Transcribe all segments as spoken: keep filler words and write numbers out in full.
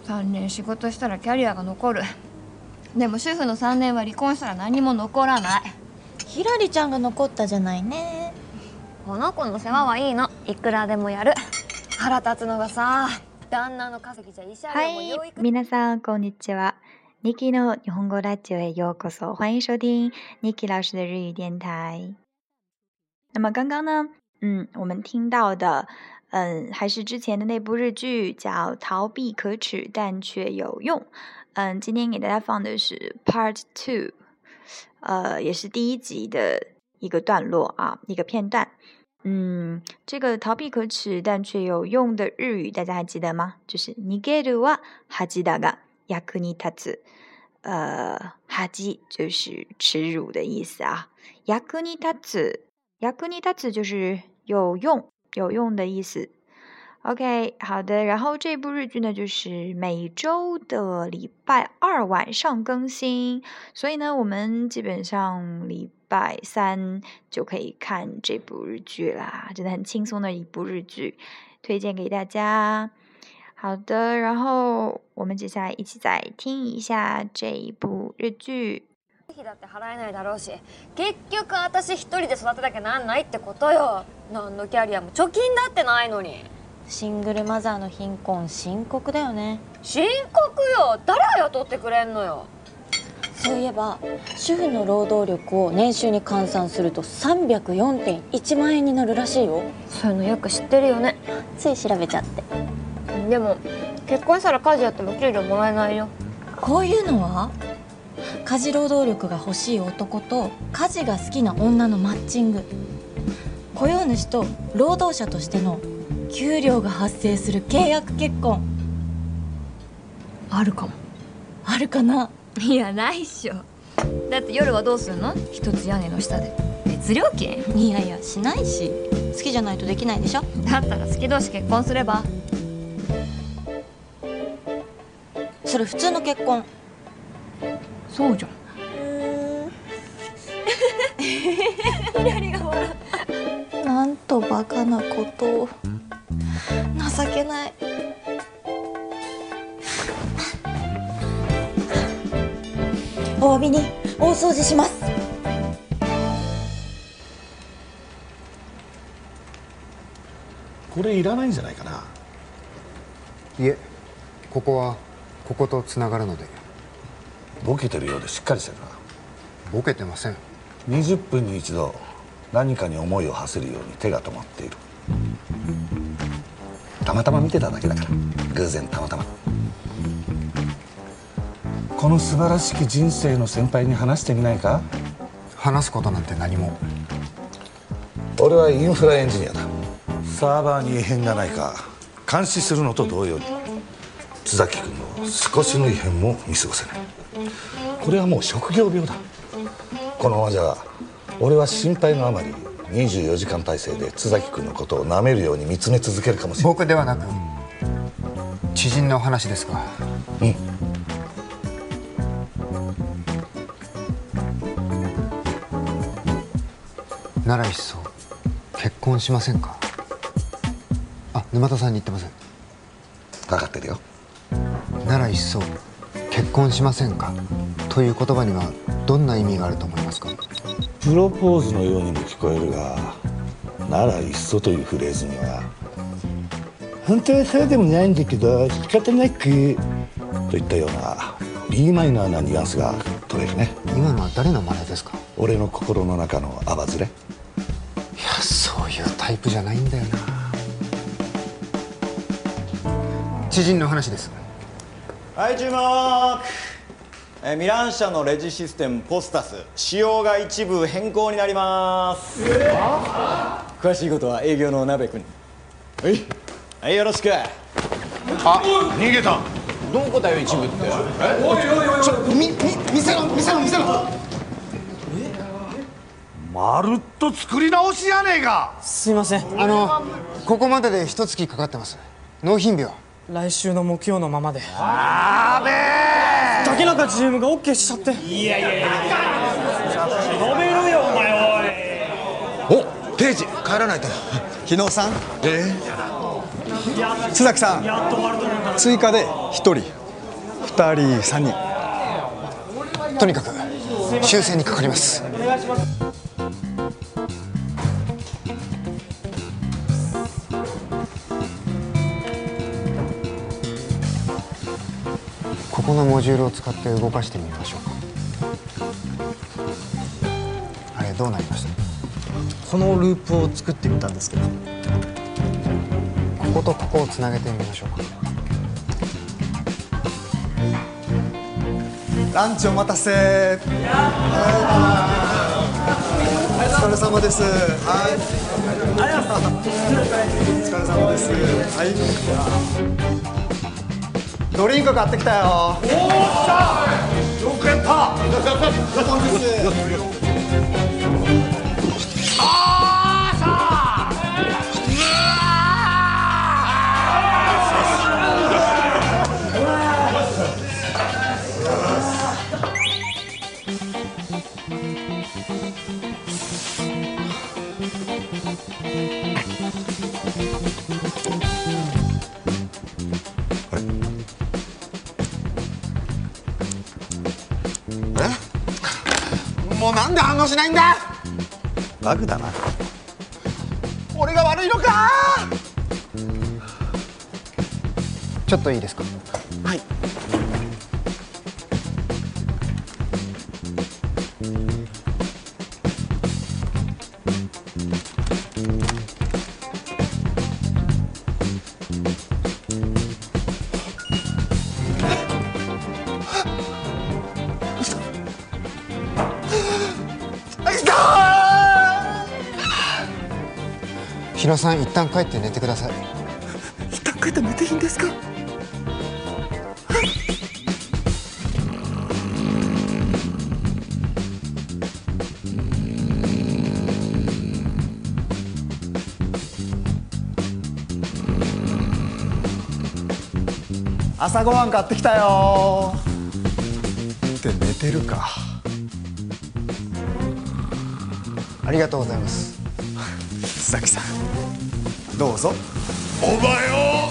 さんねん仕事したらキャリアが残る。でも主婦のさんねんは離婚したら何も残らない。 ひらりちゃんが残ったじゃないね。 この子の世話はいいの、いくらでもやる。腹立つのがさ、旦那の稼ぎじゃ慰謝料も養育。 皆さんこんにちは。Niki の日本語ラジオへようこそ，欢迎收听 Niki 老师的日语电台。那么刚刚呢，嗯，我们听到的，嗯，还是之前的那部日剧，叫《逃避可耻但却有用》。嗯，今天给大家放的是 Part Two， 呃，也是第一集的一个段落啊，一个片段。嗯，这个逃避可耻但却有用的日语，大家还记得吗？就是逃げるは恥だが役に立つ。呃，恥就是耻辱的意思啊。役に立つ，役に立つ就是有用、有用的意思。OK， 好的。然后这部日剧呢，就是每周的礼拜二晚上更新，所以呢，我们基本上礼拜三就可以看这部日剧啦，真的很轻松的一部日剧，推荐给大家。好的，然后我们接下来一起再听一下这一部日剧。 費だって払えないだろうし、結局私一人で育てなきゃなんないってことよ。何のキャリアも貯金だってないのに。 シングルマザーの貧困深刻だよね。 深刻よ。誰が雇ってくれんのよ。 そういえば主婦の労働力を年収に換算すると さんびゃくよんてんいちまん円になるらしいよ。 そういうのよく知ってるよね。 つい調べちゃって。 でも結婚したら家事やっても給料もらえないよ。 こういうのは家事労働力が欲しい男と家事が好きな女のマッチング。雇用主と労働者としての給料が発生する契約結婚。 あるかも。 あるかな。 いやないっしょ。だって夜はどうするの？一つ屋根の下で別料金？ いやいやしないし、好きじゃないとできないでしょ。 だったら好き同士結婚すれば。 それ普通の結婚。 そうじゃん。 ひらりが笑った。なんとバカなことを。情けない。お詫びに大掃除します。 これいらないんじゃないかな。 いえ、ここはこことつながるので。 ボケてるようでしっかりしてるな。 ボケてません。 にじゅっぷんに一度何かに思いを馳せるように手が止まっている。たまたま見てただけだから、偶然たまたま。この素晴らしき人生の先輩に話してみないか？ 話すことなんて何も。 俺はインフラエンジニアだ。サーバーに異変がないか監視するのと同様に津崎君の少しの異変も見過ごせない。これはもう職業病だ。このままじゃ俺は心配のあまりにじゅうよじかん体制で津崎君のことを舐めるように見つめ続けるかもしれない。 僕ではなく知人の話ですが。 うん。 ならいっそ結婚しませんか？あ、沼田さんに言ってません。 分かってるよ。 ならいっそ結婚しませんかという言葉にはどんな意味があると思いますか？ プロポーズのようにも聞こえるが、ならいっそというフレーズには本当はそうでもないんだけど仕方なくといったような B マイナーなニュアンスが取れるね。 今のは誰の真似ですか？ 俺の心の中のアバズレ。いや、そういうタイプじゃないんだよな。知人の話です。 はい、注目。えー、ミラン社のレジシステムポスタス仕様が一部変更になります。えー、詳しいことは営業の鍋君に。はい、はい、よろしく。あ、 逃げた。 どこだよ一部って。え、 おいおいおい、ちょ、み、み、見せろ見せろ見せろ。 まるっと作り直しやねえか。 すいません。 あのここまでで一月かかってます。納品日は来週の木曜のままで。 あーべえ。 竹中 ジーエム が オーケー しちゃって。いやいやいや飲めるよお前。おいお、定時帰らないと。日野さん。えー、津崎さん。やっと終わると思ったら追加でひとりふたりさんにん。 とにかく修正にかかります。ここのモジュールを使って動かしてみましょうか。あれどうなりました？ このループを作ってみたんですけど、 こことここをつなげてみましょうか。 ランチお待たせ。はい、お疲れ様です。はい、お疲れ様です。はい、ドリンク買ってきたよ。おー、来た。よくやった。お疲れ様です。 もうなんで反応しないんだ。バグだな。俺が悪いのか。 ちょっといいですか？ はい。 日野さん、一旦帰って寝てください。 一旦帰って寝ていいんですか？ 朝ごはん買ってきたよ。って寝てるか。 ありがとうございます。 須崎さん、どうぞ。 お前を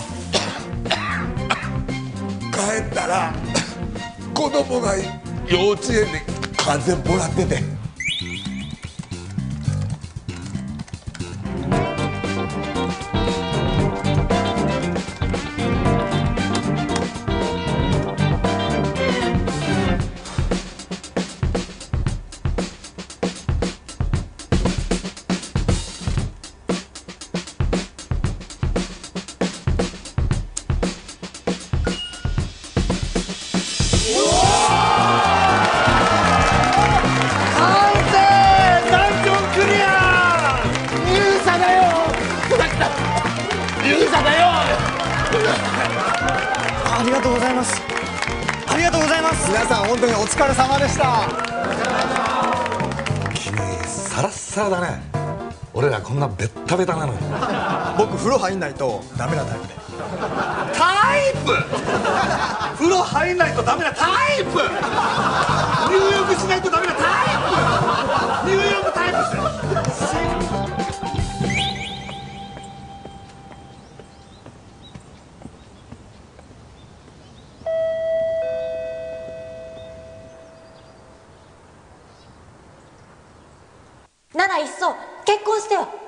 帰ったら子供が幼稚園で風邪もらってて。 ありがとうございます。ありがとうございます。皆さん本当にお疲れ様でした。 君サラッサラだね。俺らこんなベッタベタなのに。 僕風呂入んないとダメなタイプで。 タイプ風呂入んないとダメなタイプ。入浴しないとダメなタイプ。入浴タイプですよ。 ならいっそ結婚してよ。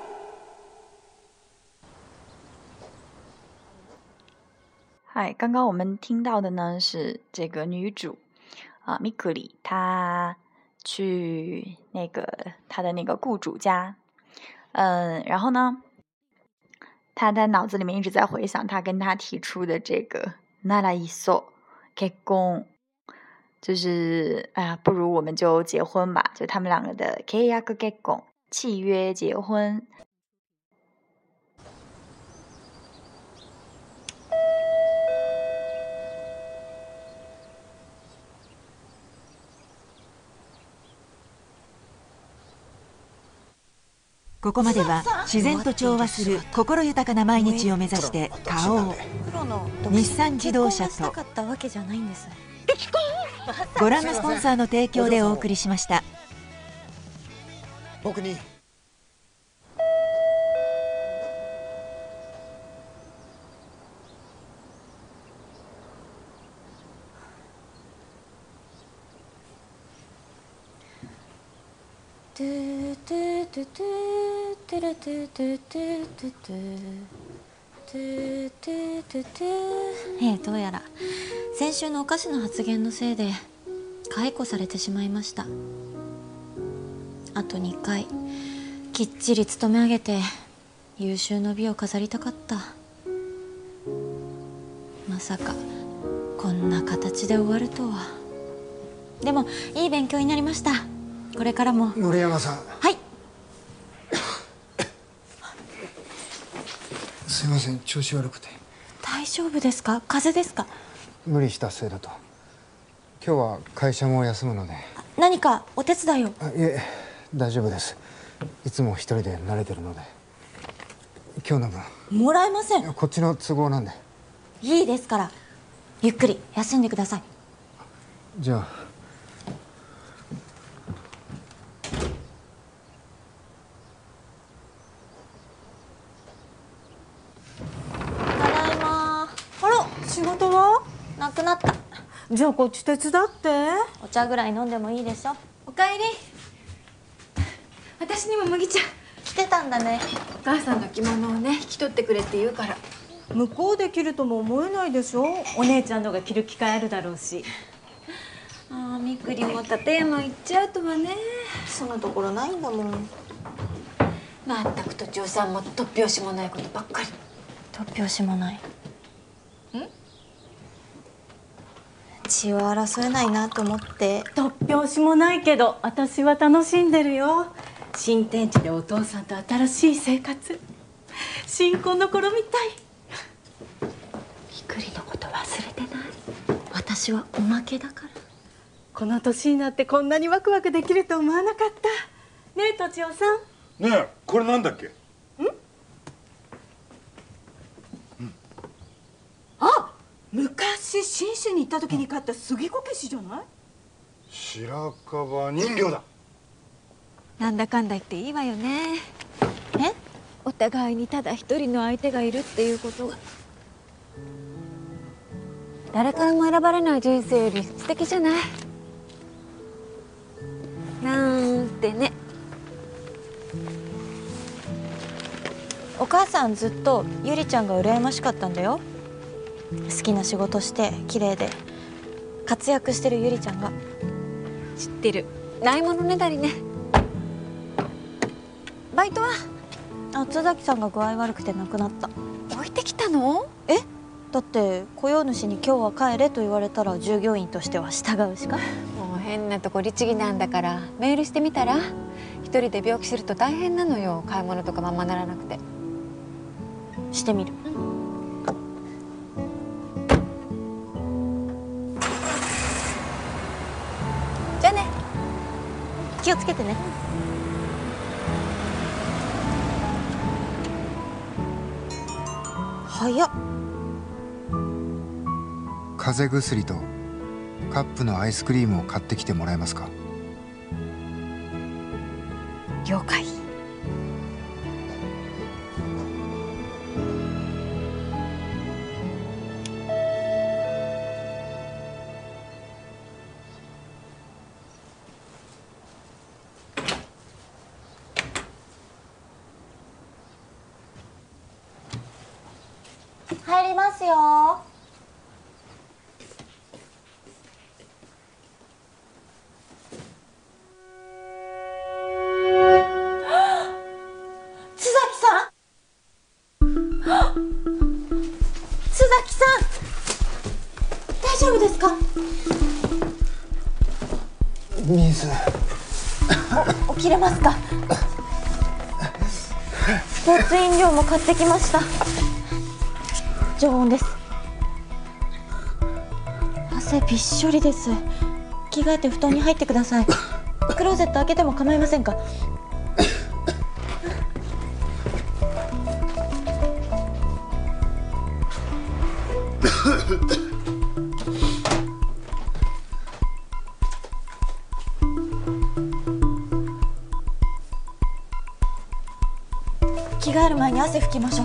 嗨，刚刚我们听到的呢是这个女主啊，Mikuri，她去那个她的那个雇主家，嗯，然后呢，她的脑子里面一直在回想她跟他提出的这个ならいっそ結婚，就是哎呀，不如我们就结婚吧，就他们两个的契約結婚，契约结婚。 ここまでは自然と調和する心豊かな毎日を目指して花王、日産自動車とご覧のスポンサーの提供でお送りしました。 僕にトゥトゥトゥトゥトゥルトゥトゥトゥトゥトゥトゥトゥトゥトゥ。ええ、どうやら先週のおかしな発言のせいで解雇されてしまいました。あとにかいきっちり勤め上げて優秀の美を飾りたかった。まさかこんな形で終わるとは。でもいい勉強になりました。これからも。 森山さん。 はい。 すいません、調子悪くて。 大丈夫ですか？風邪ですか？ 無理したせいだと。今日は会社も休むので。 何かお手伝いを？ あ、いえ、大丈夫です。いつも一人で慣れてるので。今日の分もらえません。 こっちの都合なんで。 いいですから、ゆっくり休んでください。 じゃあ。 ただいま。 あら、仕事はなくなった。 じゃあこっち手伝って。 お茶ぐらい飲んでもいいでしょ。 おかえり。私にも麦茶。 来てたんだね。 お母さんの着物をね引き取ってくれって言うから。 向こうで着るとも思えないでしょ。お姉ちゃんのが着る機会あるだろうし。 ああ、みくりも立山行っちゃうとはね。 そんなところないんだもん。 まったくとちおさんも突拍子もないことばっかり。 突拍子もない。 ん？ 血を争えないなと思って。 突拍子もないけど私は楽しんでるよ。新天地でお父さんと新しい生活。新婚の頃みたい。 みくりのこと忘れてない？ 私はおまけだから。 この年になってこんなにワクワクできると思わなかった。ねえ、とちおさん。 ねえ、これなんだっけ？ん？ あ、昔信州に行った時に買った杉こけしじゃない？ 白樺人形だ。 なんだかんだ言っていいわよね。 え？ お互いにただ一人の相手がいるっていうことが。誰からも選ばれない人生より素敵じゃない？なんてね。 お母さんずっとゆりちゃんが羨ましかったんだよ。好きな仕事して綺麗で活躍してるゆりちゃんが。 知ってる。ないものねだりね。バイトは？ あ、津崎さんが具合悪くて亡くなった。 置いてきたの？ え？だって雇用主に今日は帰れと言われたら従業員としては従うしか。 もう変なとこ律儀なんだからメールしてみたら？一人で病気すると大変なのよ。買い物とかままならなくて。 してみる。うん、 じゃあね。 気をつけてね。早っ。 風邪薬とカップのアイスクリームを買ってきてもらえますか？ 了解。入りますよ。津崎さん。津崎さん。大丈夫ですか？ 水。 起きれますか？スポーツ飲料も買ってきました。常温です。汗びっしょりです。着替えて布団に入ってください。クローゼット開けても構いませんか？着替える前に汗拭きましょう。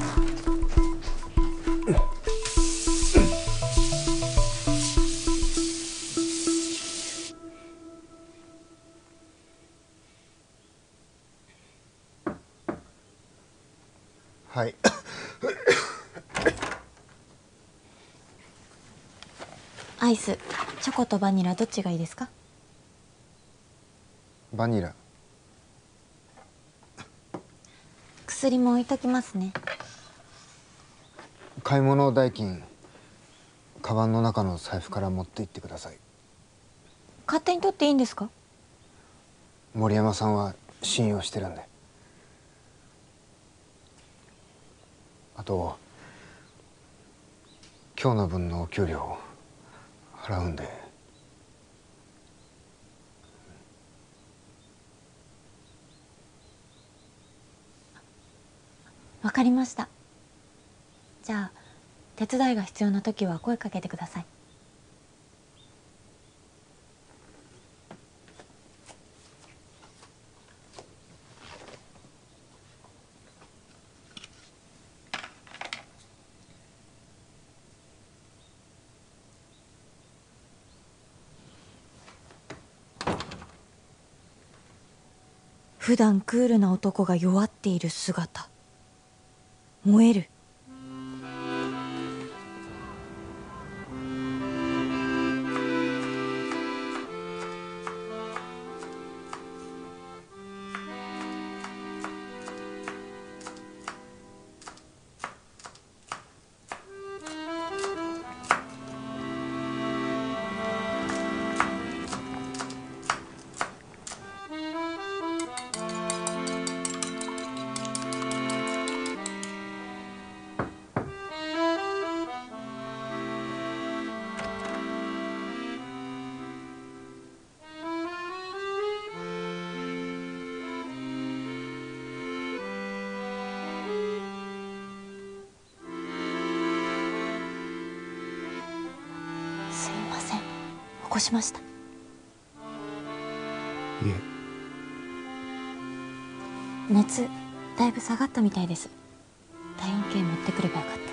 アイスチョコとバニラどっちがいいですか？ バニラ。 薬も置いときますね。 買い物代金カバンの中の財布から持って行ってください。 勝手に取っていいんですか？ 森山さんは信用してるんで。あと今日の分のお給料払うんで。 わかりました。じゃあ手伝いが必要な時は声かけてください。普段クールな男が弱っている姿、燃える。すいません、起こしました。いえ。熱だいぶ下がったみたいです。体温計持ってくればよかった。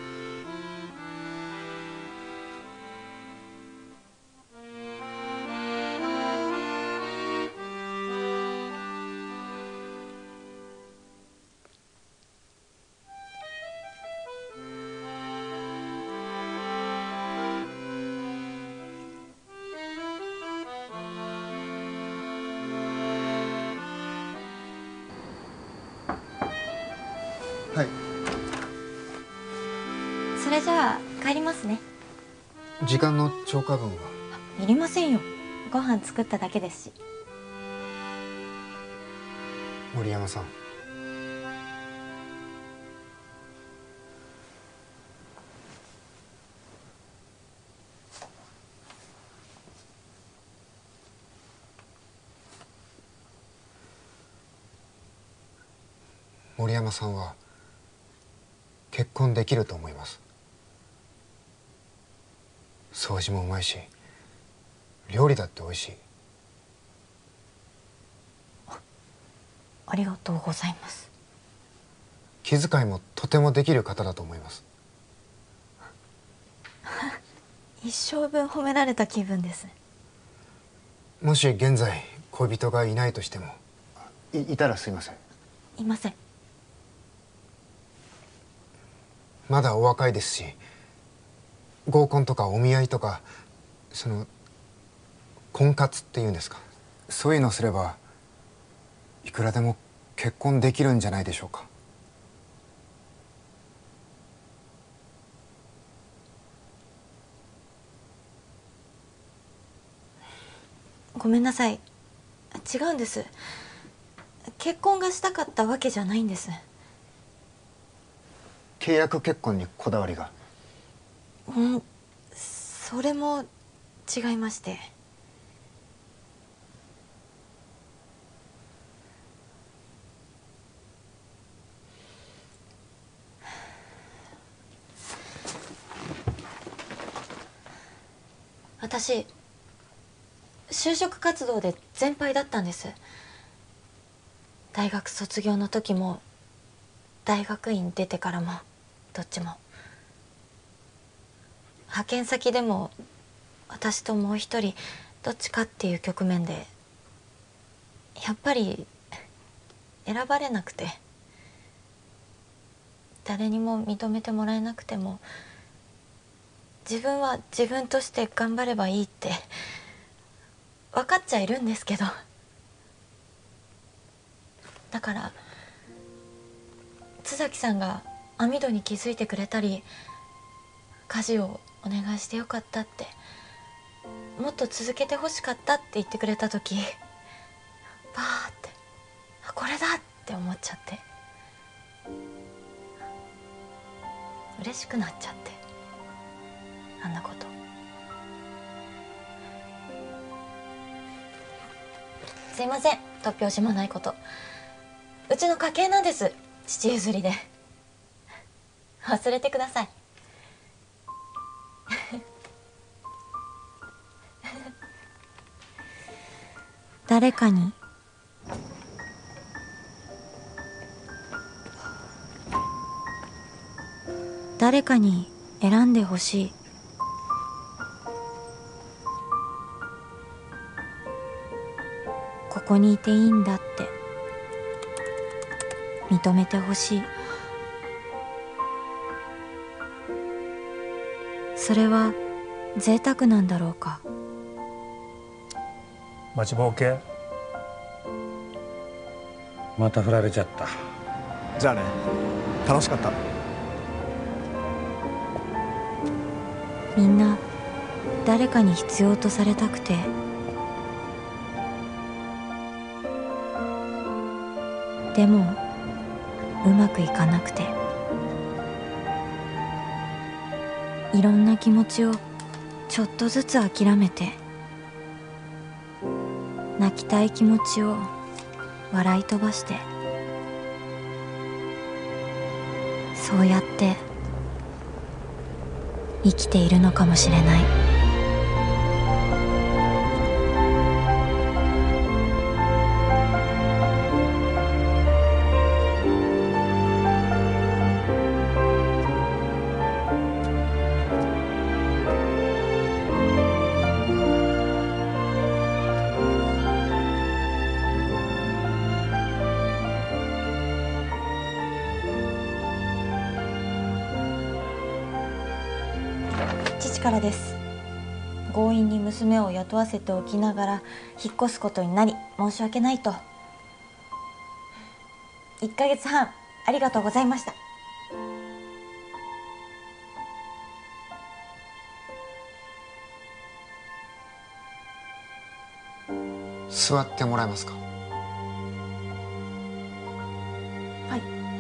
はい。 それじゃあ帰りますね。 時間の超過分は？ いりませんよ。ご飯作っただけですし。 森山さん。森山さんは結婚できると思います。掃除もうまいし、料理だって美味しい。 ありがとうございます。 気遣いもとてもできる方だと思います。 一生分褒められた気分です。 もし現在恋人がいないとしても、い、いたらすいません。 いません。 まだお若いですし、合コンとかお見合いとか、その婚活っていうんですか、そういうのすればいくらでも結婚できるんじゃないでしょうか。 ごめんなさい。違うんです。結婚がしたかったわけじゃないんです。 契約結婚にこだわりが？ うん、それも違いまして。私就職活動で全敗だったんです。大学卒業の時も大学院出てからもどっちも。派遣先でも私ともう一人どっちかっていう局面でやっぱり選ばれなくて、誰にも認めてもらえなくても自分は自分として頑張ればいいって分かっちゃいるんですけど、だから津崎さんが網戸に気づいてくれたり、家事をお願いしてよかったって、もっと続けてほしかったって言ってくれた時、バーってこれだって思っちゃって、嬉しくなっちゃって、あんなこと。すいません、突拍子もないこと。うちの家系なんです、父譲りで。忘れてください。誰かに誰かに選んでほしい。ここにいていいんだって認めてほしい。それは贅沢なんだろうか。 待ちぼうけ。 また振られちゃった。 じゃあね、楽しかった。 みんな誰かに必要とされたくて、でもうまくいかなくて、いろんな気持ちをちょっとずつ諦めて、泣きたい気持ちを笑い飛ばして、そうやって生きているのかもしれない。父からです。強引に娘を雇わせておきながら引っ越すことになり申し訳ないと。いっかげつはんありがとうございました。 座ってもらえますか。 はい。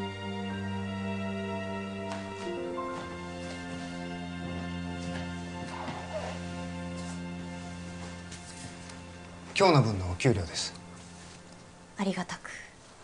今日の分のお給料です。 ありがたく。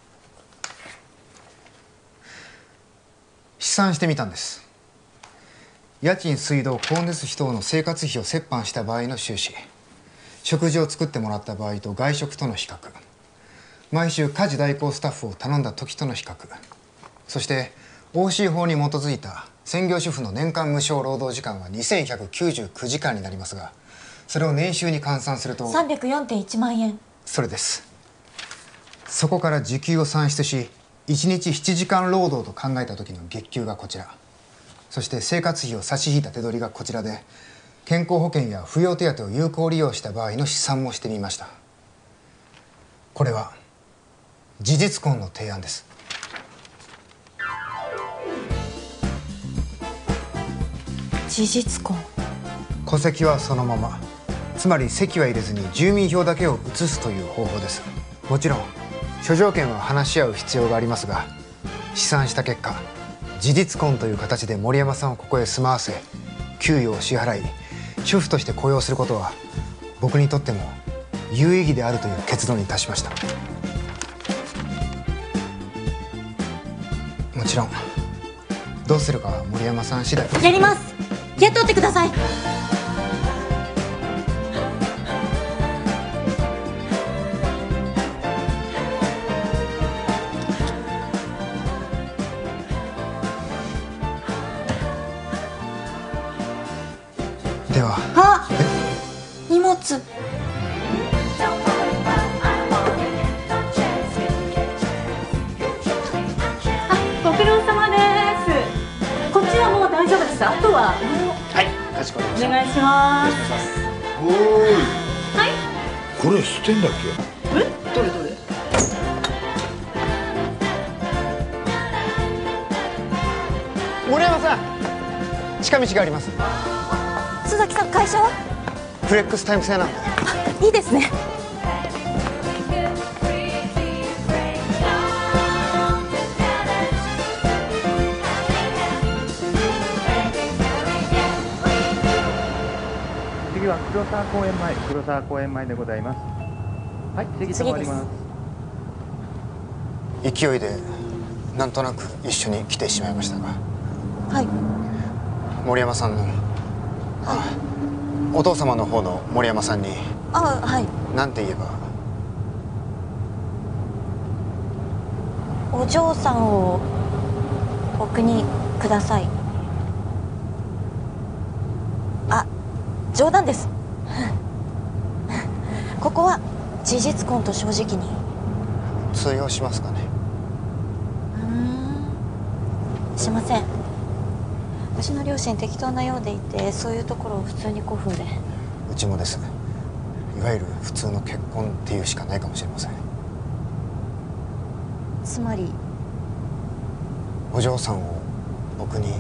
試算してみたんです。家賃、水道、光熱費等の生活費を折半した場合の収支、食事を作ってもらった場合と外食との比較、毎週家事代行スタッフを頼んだ時との比較、そして オーシー 法に基づいた専業主婦の年間無償労働時間はにせんひゃくきゅうじゅうきゅうじかんになりますが、それを年収に換算するとさんびゃくよんてんいちまんえん。 それです。そこから時給を算出し、いちにちななじかん労働と考えた時の月給がこちら、そして生活費を差し引いた手取りがこちらで、健康保険や扶養手当を有効利用した場合の試算もしてみました。これは事実婚の提案です。 事実婚。 戸籍はそのまま、つまり籍は入れずに住民票だけを移すという方法です。もちろん諸条件は話し合う必要がありますが、試算した結果、事実婚という形で森山さんをここへ住まわせ、給与を支払い、主婦として雇用することは僕にとっても有意義であるという結論に達しました。もちろんどうするかは森山さん次第。 やります。雇ってください。 では。 あ、荷物。 あ、ご苦労様です。こっちはもう大丈夫です。あとははい、 かしこまりました。 お願いします。 おーい。 はい。 これ捨てんだっけ？ え、どれどれ？ 森山さん、近道があります。 須崎さん、会社は？ フレックスタイム制なんで。 いいですね。 次は黒沢公園前、黒沢公園前でございます。はい、次止まります。 勢いでなんとなく一緒に来てしまいましたが、 はい。 森山さんの、あ、お父様の方の森山さんにあ、はい。 何て言えば。 お嬢さんを僕にください。あ、冗談です。ここは事実婚と正直に。 通用しますかね？ うーん、しません。うちの両親適当なようでいて、そういうところを普通に古風で。 うちもです。いわゆる普通の結婚っていうしかないかもしれません。 つまりお嬢さんを僕に。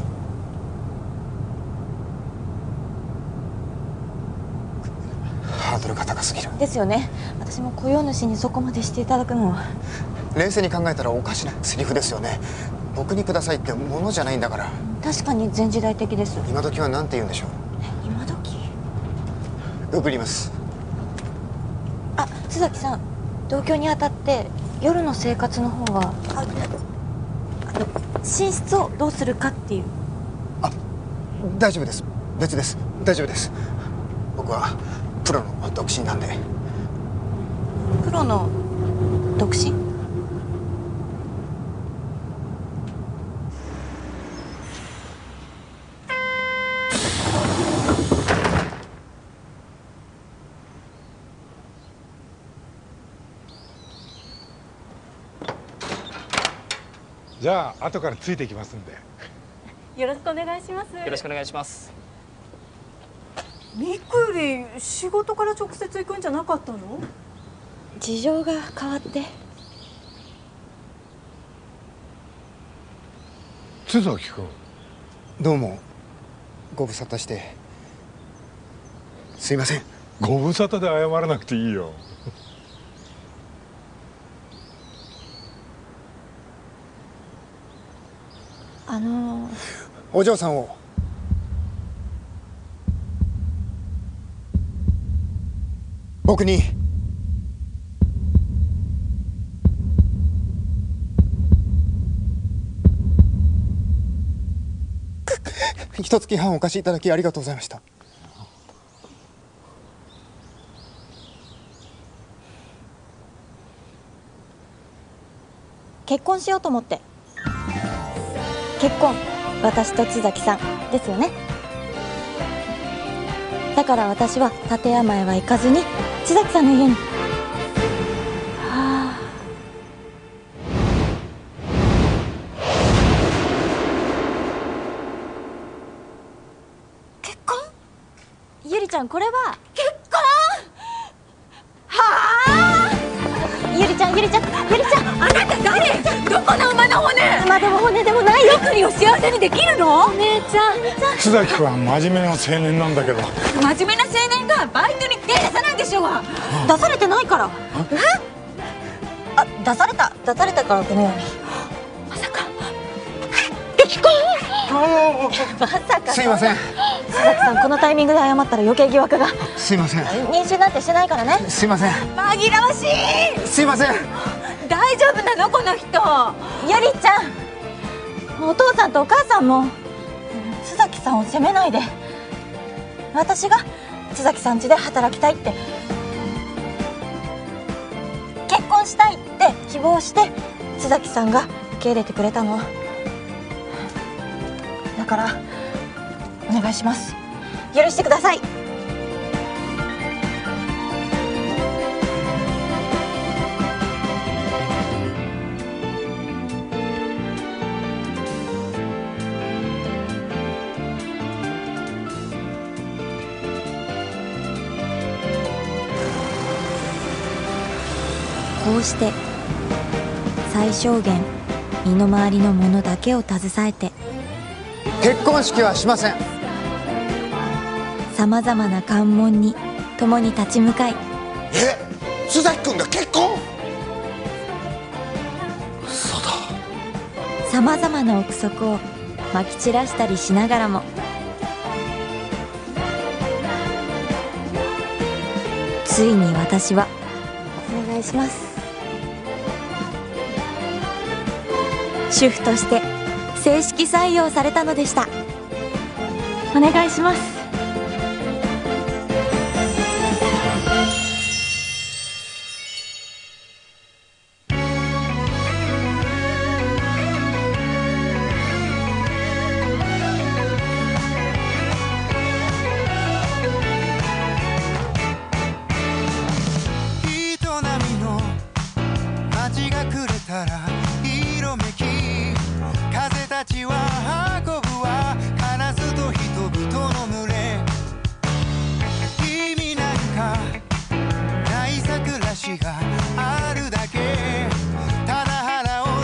ハードルが高すぎる。 ですよね。私も雇用主にそこまでしていただくのは。 冷静に考えたらおかしなセリフですよね。僕にくださいってものじゃないんだから。 確かに前時代的です。 今時は何て言うんでしょう。 今時？ 送ります。 あ、須崎さん、同居にあたって夜の生活の方は、あ、あの寝室をどうするかっていう。 あ、大丈夫です。別です。大丈夫です。僕はプロの独身なんで。 プロの独身？ じゃあ後からついていきますんで。 よろしくお願いします。 よろしくお願いします。 みくり、仕事から直接行くんじゃなかったの？ 事情が変わって。 津崎君。 どうもご無沙汰してすいません。 ご無沙汰で謝らなくていいよ。 あのー、 お嬢さんを僕に。一月半お貸しいただきありがとうございました。 結婚しようと思って。結婚、私と津崎さんですよね。だから私は立山へは行かずに津崎さんの家に。はあ。結婚？ゆりちゃん、これは結婚？はあ。ゆりちゃん、ゆりちゃん、ゆりちゃん、あなた誰？どこの馬の骨？馬でも骨でもないよ。ゆりを幸せにできるの？お姉ちゃん。 津崎君は真面目な青年なんだけど。 真面目な青年がバイトに手出さないでしょうが。 出されてないから。え？あ、出された、出されたからこのように。まさか結婚？まさか。 すいません。 須崎さん、このタイミングで謝ったら余計疑惑が。 すいません。 妊娠なんてしてないからね。 すいません。 紛らわしい。 すいません。 大丈夫なのこの人？ ゆりちゃん、お父さんとお母さんも須崎さんを責めないで。私が須崎さん家で働きたいって、結婚したいって希望して須崎さんが受け入れてくれたの。だからお願いします。許してください。 こうして最小限身の回りのものだけを携えて結婚式はしません。 さまざまな関門に共に立ち向かい、 え、須崎君が結婚？嘘だ。 さまざまな憶測をまき散らしたりしながらも、ついに私はお願いします、主婦として正式採用されたのでした。 お願いします。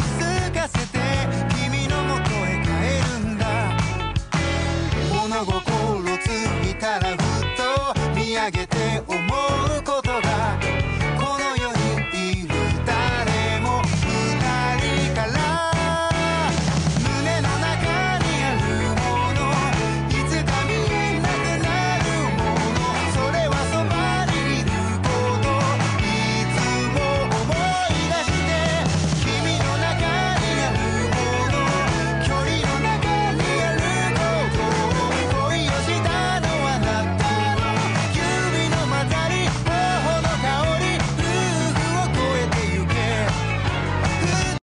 物心